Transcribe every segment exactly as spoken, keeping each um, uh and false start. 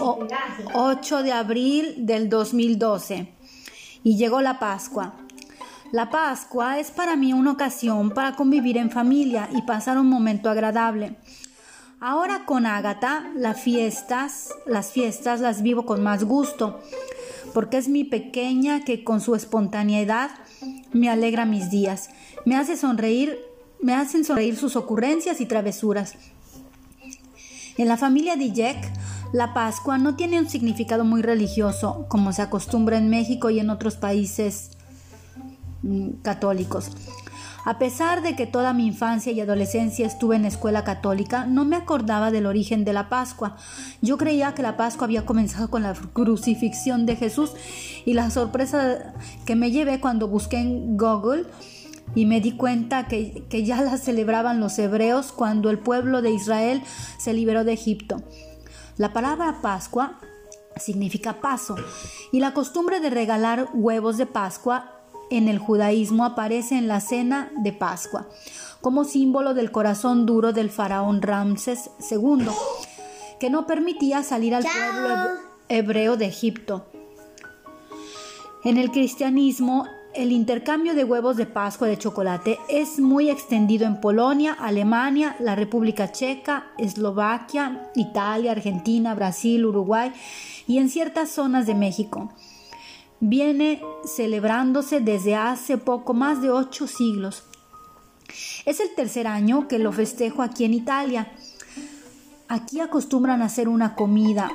ocho de abril del dos mil doce y llegó la Pascua. La Pascua es para mí una ocasión para convivir en familia y pasar un momento agradable. Ahora con Ágata, las fiestas, las fiestas las vivo con más gusto, porque es mi pequeña que con su espontaneidad me alegra mis días, me hace sonreír, me hacen sonreír sus ocurrencias y travesuras. En la familia de Jack, la Pascua no tiene un significado muy religioso, como se acostumbra en México y en otros países mm, católicos. A pesar de que toda mi infancia y adolescencia estuve en escuela católica, no me acordaba del origen de la Pascua. Yo creía que la Pascua había comenzado con la crucifixión de Jesús, y la sorpresa que me llevé cuando busqué en Google y me di cuenta que, que ya la celebraban los hebreos cuando el pueblo de Israel se liberó de Egipto. La palabra Pascua significa paso, y la costumbre de regalar huevos de Pascua en el judaísmo aparece en la cena de Pascua, como símbolo del corazón duro del faraón Ramsés segundo, que no permitía salir al pueblo hebreo de Egipto. En el cristianismo, el intercambio de huevos de Pascua de chocolate es muy extendido en Polonia, Alemania, la República Checa, Eslovaquia, Italia, Argentina, Brasil, Uruguay y en ciertas zonas de México. Viene celebrándose desde hace poco más de ocho siglos. Es el tercer año que lo festejo aquí en Italia. Aquí acostumbran a hacer una comida.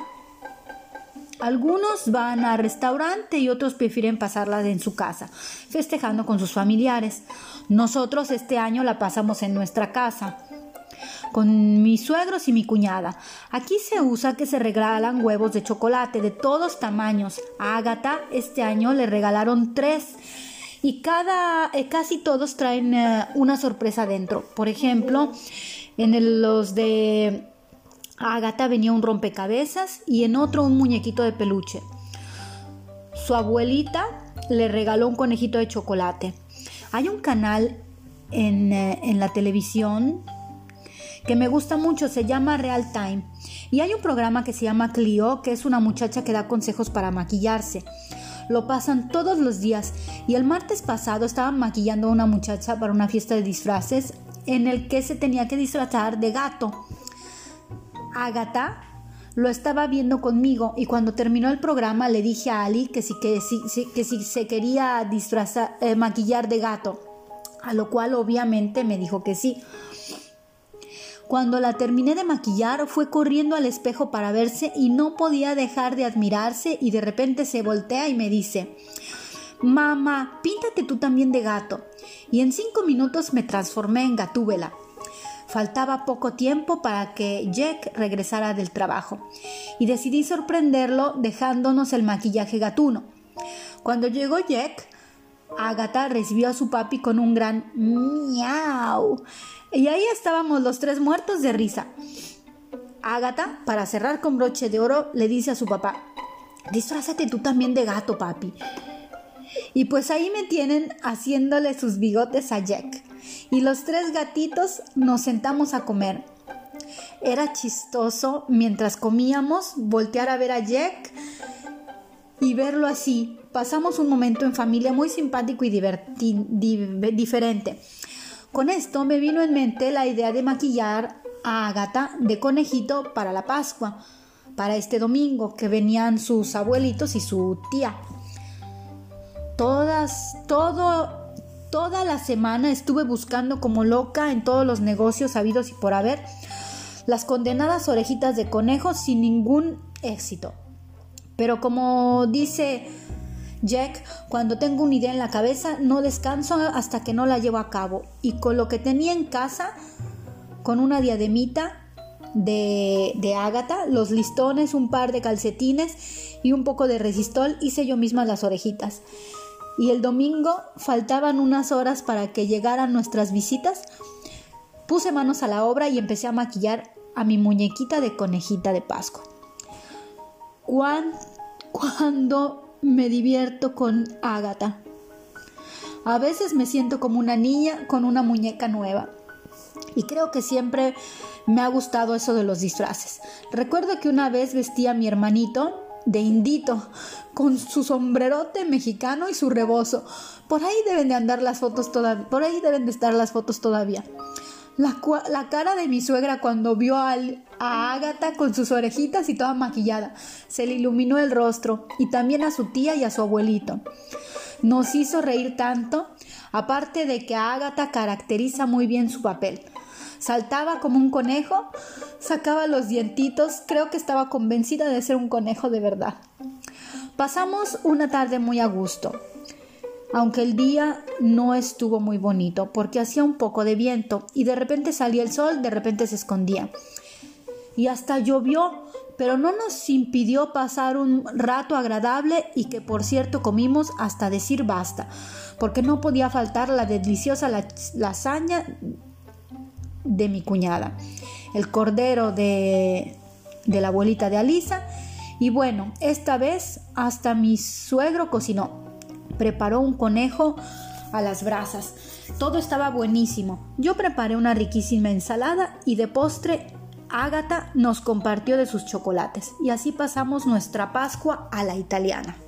Algunos van al restaurante y otros prefieren pasarla en su casa, festejando con sus familiares. Nosotros este año la pasamos en nuestra casa, con mis suegros y mi cuñada. Aquí se usa que se regalan huevos de chocolate de todos tamaños. A Ágata este año le regalaron tres y cada, eh, casi todos traen eh, una sorpresa dentro. Por ejemplo, en el, los de Ágata venía un rompecabezas y en otro un muñequito de peluche. Su abuelita le regaló un conejito de chocolate. Hay un canal en, eh, en la televisión que me gusta mucho, se llama Real Time, y hay un programa que se llama Clio, que es una muchacha que da consejos para maquillarse. Lo pasan todos los días, y el martes pasado estaban maquillando a una muchacha para una fiesta de disfraces en el que se tenía que disfrazar de gato. Ágata lo estaba viendo conmigo, y cuando terminó el programa le dije a Ali que si, que si, que si se quería disfrazar, eh, maquillar de gato, a lo cual obviamente me dijo que sí. Cuando la terminé de maquillar, fue corriendo al espejo para verse y no podía dejar de admirarse, y de repente se voltea y me dice: «Mamá, píntate tú también de gato». Y en cinco minutos me transformé en Gatúbela. Faltaba poco tiempo para que Jack regresara del trabajo y decidí sorprenderlo dejándonos el maquillaje gatuno. Cuando llegó Jack, Ágata recibió a su papi con un gran miau. Y ahí estábamos los tres muertos de risa. Ágata, para cerrar con broche de oro, le dice a su papá: «Disfrázate tú también de gato, papi». Y pues ahí me tienen haciéndole sus bigotes a Jack. Y los tres gatitos nos sentamos a comer. Era chistoso mientras comíamos voltear a ver a Jack y verlo así. Pasamos un momento en familia muy simpático y diverti- di- diferente. Con esto me vino en mente la idea de maquillar a Ágata de conejito para la Pascua, para este domingo, que venían sus abuelitos y su tía. Todas, todo, toda la semana estuve buscando como loca en todos los negocios habidos y por haber las condenadas orejitas de conejo sin ningún éxito. Pero como dice Jack, cuando tengo una idea en la cabeza no descanso hasta que no la llevo a cabo. Y con lo que tenía en casa, con una diademita de, de Ágata, los listones, un par de calcetines y un poco de resistol, hice yo misma las orejitas. Y el domingo faltaban unas horas para que llegaran nuestras visitas. Puse manos a la obra y empecé a maquillar a mi muñequita de conejita de Pascua. ¿Cuán, cuándo me divierto con Ágata? A veces me siento como una niña con una muñeca nueva. Y creo que siempre me ha gustado eso de los disfraces. Recuerdo que una vez vestí a mi hermanito de indito, con su sombrerote mexicano y su rebozo. Por ahí deben de andar las fotos todavía, por ahí deben de estar las fotos todavía. La, la cara de mi suegra cuando vio al, a Ágata con sus orejitas y toda maquillada. Se le iluminó el rostro, y también a su tía y a su abuelito. Nos hizo reír tanto, aparte de que a Ágata caracteriza muy bien su papel. Saltaba como un conejo, sacaba los dientitos, creo que estaba convencida de ser un conejo de verdad. Pasamos una tarde muy a gusto, aunque el día no estuvo muy bonito porque hacía un poco de viento y de repente salía el sol, de repente se escondía. Y hasta llovió, pero no nos impidió pasar un rato agradable y que por cierto comimos hasta decir basta, porque no podía faltar la deliciosa lasaña de mi cuñada, el cordero de, de la abuelita de Alisa, y bueno, esta vez hasta mi suegro cocinó, preparó un conejo a las brasas, todo estaba buenísimo. Yo preparé una riquísima ensalada y de postre Ágata nos compartió de sus chocolates, y así pasamos nuestra Pascua a la italiana.